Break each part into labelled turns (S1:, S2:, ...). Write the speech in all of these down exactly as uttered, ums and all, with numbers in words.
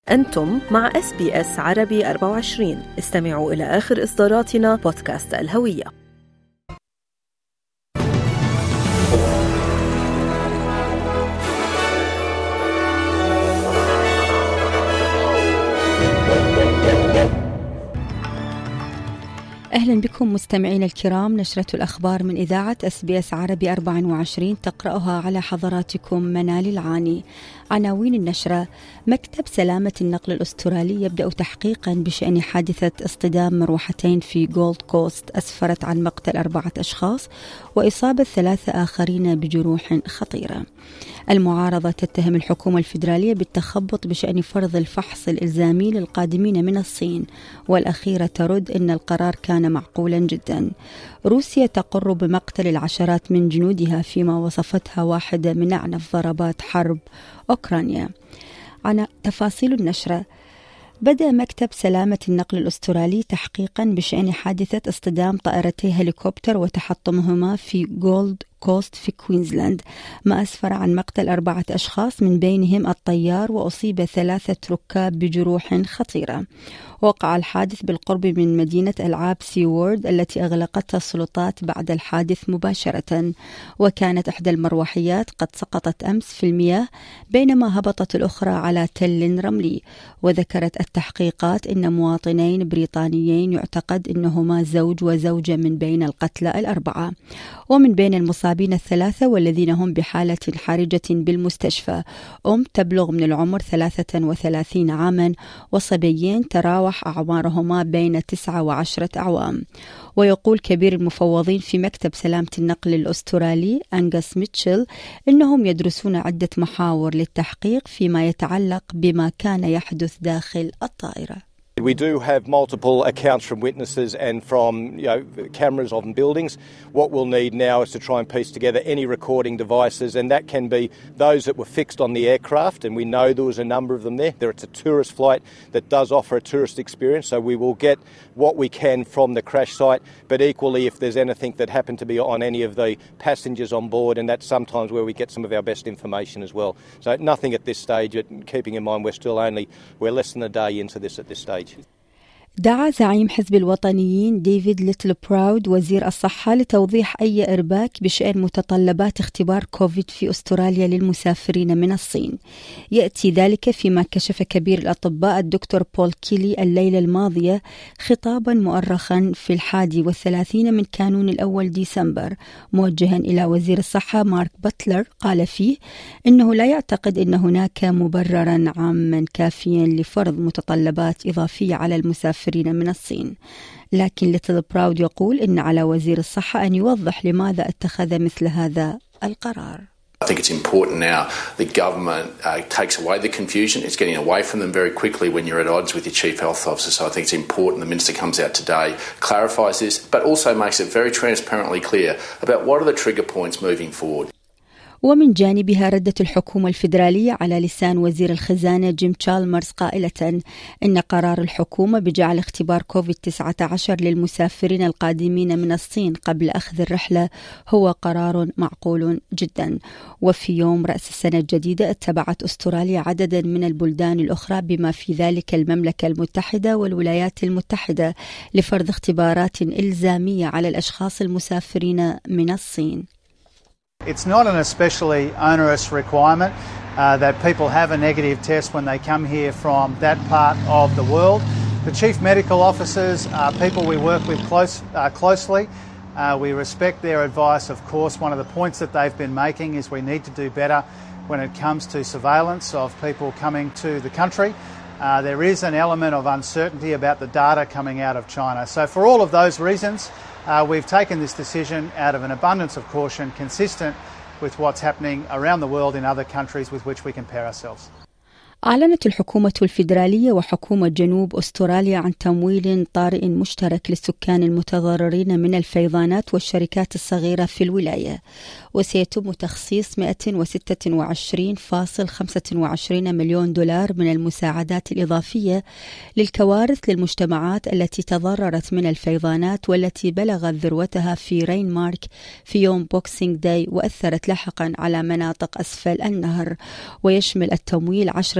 S1: أنتم مع إس بي إس عربي أربعة وعشرين. استمعوا إلى آخر إصداراتنا بودكاست الهوية.
S2: أهلا بكم مستمعين الكرام. نشرة الأخبار من إذاعة إس بي إس عربي أربعة وعشرين تقرأها على حضراتكم منال العاني. عناوين النشرة: مكتب سلامة النقل الأسترالي يبدأ تحقيقا بشأن حادثة اصطدام مروحتين في جولد كوست أسفرت عن مقتل أربعة أشخاص وإصابة ثلاثة آخرين بجروح خطيرة. المعارضة تتهم الحكومة الفيدرالية بالتخبط بشأن فرض الفحص الإلزامي للقادمين من الصين، والأخيرة ترد أن القرار كان معقولا جدا. روسيا تقر بمقتل العشرات من جنودها فيما وصفتها واحدة من أعنف ضربات حرب أوكرانيا. عن تفاصيل النشرة: بدأ مكتب سلامة النقل الأسترالي تحقيقا بشأن حادثة اصطدام طائرتي هليكوبتر وتحطمهما في جولد كوست في كوينزلاند، ما أسفر عن مقتل أربعة أشخاص من بينهم الطيار، وأصيب ثلاثة ركاب بجروح خطيرة. وقع الحادث بالقرب من مدينة ألعاب سي وورد التي أغلقتها السلطات بعد الحادث مباشرة، وكانت إحدى المروحيات قد سقطت أمس في المياه بينما هبطت الأخرى على تل رملي. وذكرت التحقيقات أن مواطنين بريطانيين يعتقد أنهما زوج وزوجة من بين القتلى الأربعة، ومن بين المصابين الثلاثة والذين هم بحالة حرجة بالمستشفى أم تبلغ من العمر ثلاثة وثلاثين عاما، وصبيين تراوح أعمارهما بين تسعة وعشرة أعوام. ويقول كبير المفوضين في مكتب سلامة النقل الأسترالي أنغاس ميتشل إنهم يدرسون عدة محاور للتحقيق فيما يتعلق بما كان يحدث داخل الطائرة.
S3: We do have multiple accounts from witnesses and from you know, cameras on buildings. What we'll need now is to try and piece together any recording devices, and that can be those that were fixed on the aircraft, and we know there was a number of them there. There it's a tourist flight that does offer a tourist experience, so we will get what we can from the crash site, but equally if there's anything that happened to be on any of the passengers on board, and that's sometimes where we get some of our best information as well. So nothing at this stage, keeping in mind we're still only, we're less than a day into this at this stage.
S2: دعا زعيم حزب الوطنيين ديفيد ليتل براود وزير الصحة لتوضيح أي إرباك بشأن متطلبات اختبار كوفيد في أستراليا للمسافرين من الصين. يأتي ذلك فيما كشف كبير الأطباء الدكتور بول كيلي الليلة الماضية خطابا مؤرخا في الحادي والثلاثين من كانون الأول ديسمبر موجها إلى وزير الصحة مارك باتلر، قال فيه إنه لا يعتقد أن هناك مبررا عاما كافيا لفرض متطلبات إضافية على المسافرين من الصين. لكن ليتل براود يقول إن على وزير الصحة أن يوضح لماذا اتخذ مثل هذا القرار.
S4: I think it's important now the government uh, takes away the confusion. It's getting away from them very quickly when you're at odds with your chief health officer. So I think it's important the minister comes out today, clarifies this, but also makes it very transparently clear about what are the trigger points moving forward.
S2: ومن جانبها ردت الحكومة الفيدرالية على لسان وزير الخزانة جيم تشالمرز قائلة إن قرار الحكومة بجعل اختبار كوفيد تسعة عشر للمسافرين القادمين من الصين قبل أخذ الرحلة هو قرار معقول جدا. وفي يوم رأس السنة الجديدة اتبعت أستراليا عددا من البلدان الأخرى بما في ذلك المملكة المتحدة والولايات المتحدة لفرض اختبارات إلزامية على الأشخاص المسافرين من الصين.
S5: It's not an especially onerous requirement uh, that people have a negative test when they come here from that part of the world. The chief medical officers are people we work with close, uh, closely. Uh, we respect their advice, of course. One of the points that they've been making is we need to do better when it comes to surveillance of people coming to the country. Uh, there is an element of uncertainty about the data coming out of China. So for all of those reasons, Uh, we've taken this decision out of an abundance of caution, consistent with what's happening around the world in other countries with which we compare ourselves.
S2: أعلنت الحكومة الفيدرالية وحكومة جنوب أستراليا عن تمويل طارئ مشترك للسكان المتضررين من الفيضانات والشركات الصغيرة في الولاية، وسيتم تخصيص مئة وستة وعشرين فاصلة خمسة وعشرين مليون دولار من المساعدات الإضافية للكوارث للمجتمعات التي تضررت من الفيضانات والتي بلغت ذروتها في رين مارك في يوم بوكسينج داي وأثرت لاحقا على مناطق أسفل النهر. ويشمل التمويل عشرة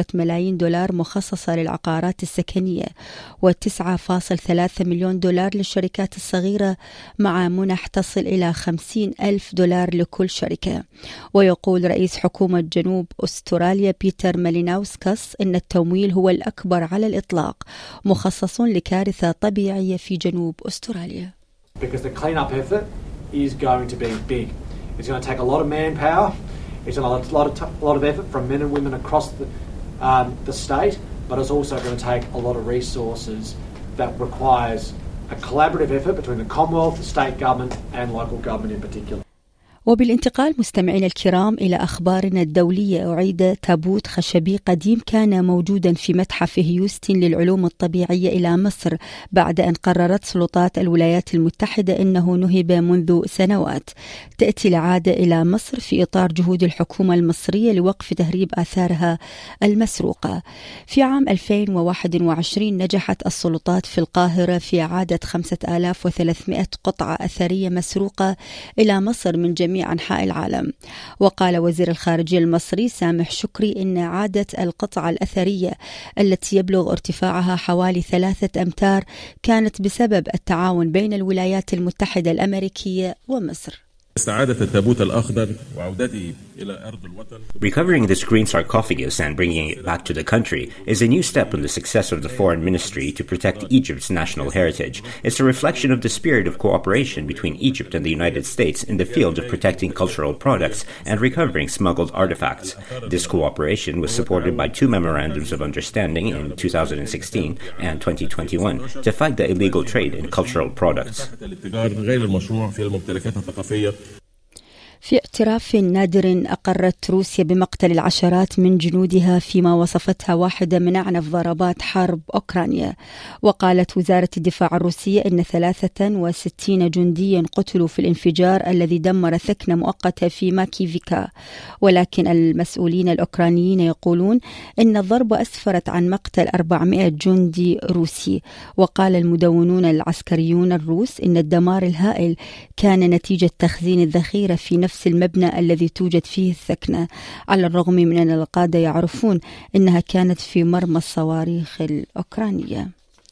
S2: ملايين دولار مخصصة للعقارات السكنية وتسعة فاصلة ثلاثة مليون دولار للشركات الصغيرة مع منح تصل إلى خمسين ألف دولار لكل شركة. ويقول رئيس حكومة جنوب أستراليا بيتر ماليناوسكاس إن التمويل هو الأكبر على الإطلاق مخصص لكارثة طبيعية في جنوب أستراليا.
S6: Because the clean-up effort is going to be big. It's going to take a lot of manpower. It's a lot, a lot of t- a lot of effort from men and women across the um, the state, but it's also going to take a lot of resources that requires a collaborative effort between the Commonwealth, the state government, and local government in particular.
S2: وبالانتقال مستمعينا الكرام إلى أخبارنا الدولية، أعيد تابوت خشبي قديم كان موجودا في متحف هيوستن للعلوم الطبيعية إلى مصر بعد أن قررت سلطات الولايات المتحدة أنه نهب منذ سنوات. تأتي العادة إلى مصر في إطار جهود الحكومة المصرية لوقف تهريب آثارها المسروقة. في عام ألفين وواحد وعشرين نجحت السلطات في القاهرة في إعادة خمسة آلاف وثلاثمائة قطعة أثرية مسروقة إلى مصر من جميع أنحاء العالم. وقال وزير الخارجية المصري سامح شكري إن إعادة القطعة الأثرية التي يبلغ ارتفاعها حوالي ثلاثة أمتار كانت بسبب التعاون بين الولايات المتحدة الأمريكية ومصر.
S7: استعادة التابوت الأخضر وعودته إلى أرض الوطن.
S8: Recovering this green sarcophagus and bringing it back to the country is a new step in the success of the Foreign Ministry to protect Egypt's national heritage. It's a reflection of the spirit of cooperation between Egypt and the United States in the field of protecting cultural products and recovering smuggled artifacts. This cooperation was supported by two memorandums of understanding in two thousand sixteen and twenty twenty-one to fight the illegal trade in cultural products.
S2: في اعتراف نادر أقرت روسيا بمقتل العشرات من جنودها فيما وصفتها واحدة من أعنف ضربات حرب أوكرانيا. وقالت وزارة الدفاع الروسية إن ثلاثة وستين جنديا قتلوا في الانفجار الذي دمر ثكنة مؤقتة في ماكيفيكا. ولكن المسؤولين الأوكرانيين يقولون إن الضربة أسفرت عن مقتل أربعمائة جندي روسي. وقال المدونون العسكريون الروس إن الدمار الهائل كان نتيجة تخزين الذخيرة في نفس المبنى الذي توجد فيه الثكنة، على الرغم من أن القادة يعرفون أنها كانت في مرمى الصواريخ الأوكرانية.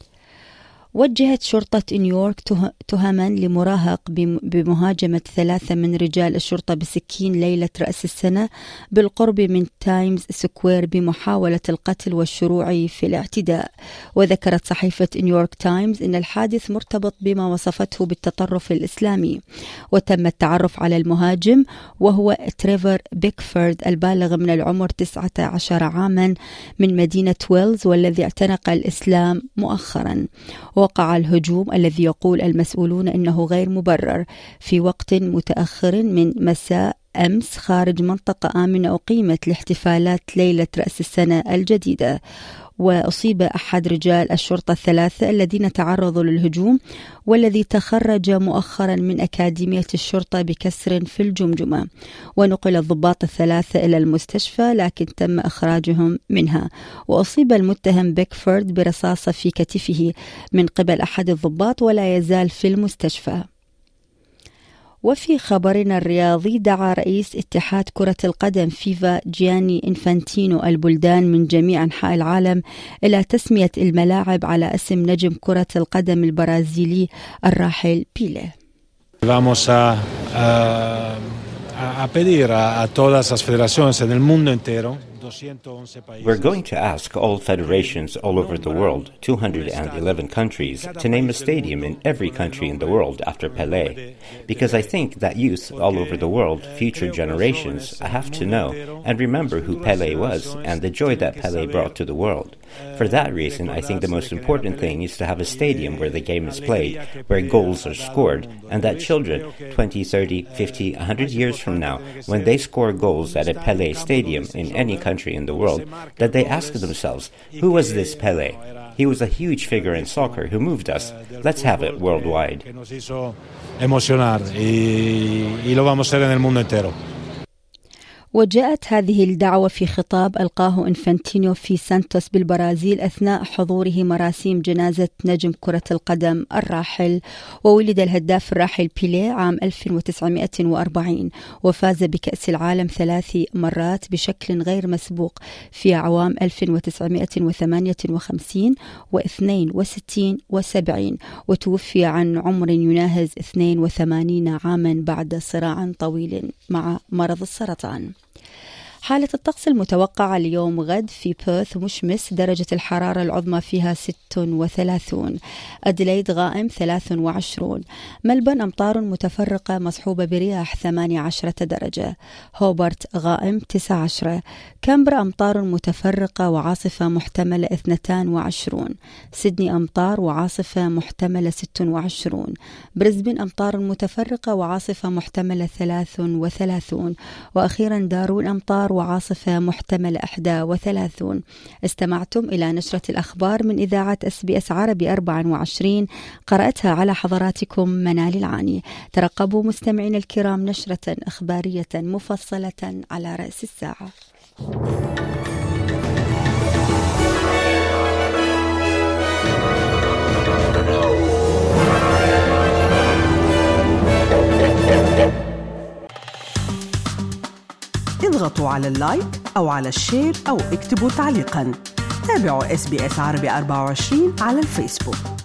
S2: وجهت شرطة نيويورك تهما لمراهق بمهاجمة ثلاثة من رجال الشرطة بسكين ليلة رأس السنة بالقرب من تايمز سكوير بمحاولة القتل والشروع في الاعتداء. وذكرت صحيفة نيويورك تايمز أن الحادث مرتبط بما وصفته بالتطرف الإسلامي. وتم التعرف على المهاجم وهو تريفر بيكفورد البالغ من العمر تسعة عشر عاما من مدينة ويلز والذي اعتنق الإسلام مؤخرا. وقع الهجوم الذي يقول المسؤولون إنه غير مبرر في وقت متأخر من مساء أمس خارج منطقة آمنة أقيمت لاحتفالات ليلة رأس السنة الجديدة. وأصيب أحد رجال الشرطة الثلاثة الذين تعرضوا للهجوم والذي تخرج مؤخرا من أكاديمية الشرطة بكسر في الجمجمة. ونقل الضباط الثلاثة إلى المستشفى لكن تم إخراجهم منها. وأصيب المتهم بيكفورد برصاصة في كتفه من قبل أحد الضباط ولا يزال في المستشفى. وفي خبرنا الرياضي دعا رئيس اتحاد كرة القدم فيفا جياني إنفانتينو البلدان من جميع أنحاء العالم إلى تسمية الملاعب على اسم نجم كرة القدم البرازيلي الراحل بيليه.
S9: Vamos a, a, a pedir a, a todas las federaciones en el mundo entero.
S8: We're going to ask all federations all over the world, two hundred eleven countries, to name a stadium in every country in the world after Pelé, because I think that youth all over the world, future generations, have to know and remember who Pelé was and the joy that Pelé brought to the world. For that reason, I think the most important thing is to have a stadium where the game is played, where goals are scored, and that children, twenty, thirty, fifty, one hundred years from now, when they score goals at a Pelé stadium in any country in the world, that they ask themselves, who was this Pelé? He was a huge figure in soccer who moved us. Let's have it worldwide.
S2: وجاءت هذه الدعوة في خطاب ألقاه إنفانتينو في سانتوس بالبرازيل أثناء حضوره مراسيم جنازة نجم كرة القدم الراحل. وولد الهداف الراحل بيليه عام ألف وتسعمائة وأربعين، وفاز بكأس العالم ثلاث مرات بشكل غير مسبوق في أعوام ألف وتسعمائة وثمانية وخمسين واثنين وستين وسبعين، وتوفي عن عمر يناهز اثنين وثمانين عاما بعد صراع طويل مع مرض السرطان. حالة الطقس المتوقعة اليوم غد في بيرث مشمس، درجة الحرارة العظمى فيها ست وثلاثون. أديلايد غائم ثلاث وعشرون. ملبن أمطار متفرقة مصحوبة برياح ثمانية عشرة درجة. هوبرت غائم تسعة عشر. كامبرا أمطار متفرقة وعاصفة محتملة اثنتان وعشرون. سيدني أمطار وعاصفة محتملة ست وعشرون. بريسبن أمطار متفرقة وعاصفة محتملة ثلاث وثلاثون. وأخيرا دارون أمطار وعاصفة محتملة إحدى وثلاثون. استمعتم إلى نشرة الأخبار من إذاعة إس بي إس عربي أربعة وعشرين، قرأتها على حضراتكم منال العاني. ترقبوا مستمعين الكرام نشرة إخبارية مفصلة على رأس الساعة.
S10: اضغطوا على اللايك أو على الشير أو اكتبوا تعليقا. تابعوا إس بي إس عربي أربعة وعشرين على الفيسبوك.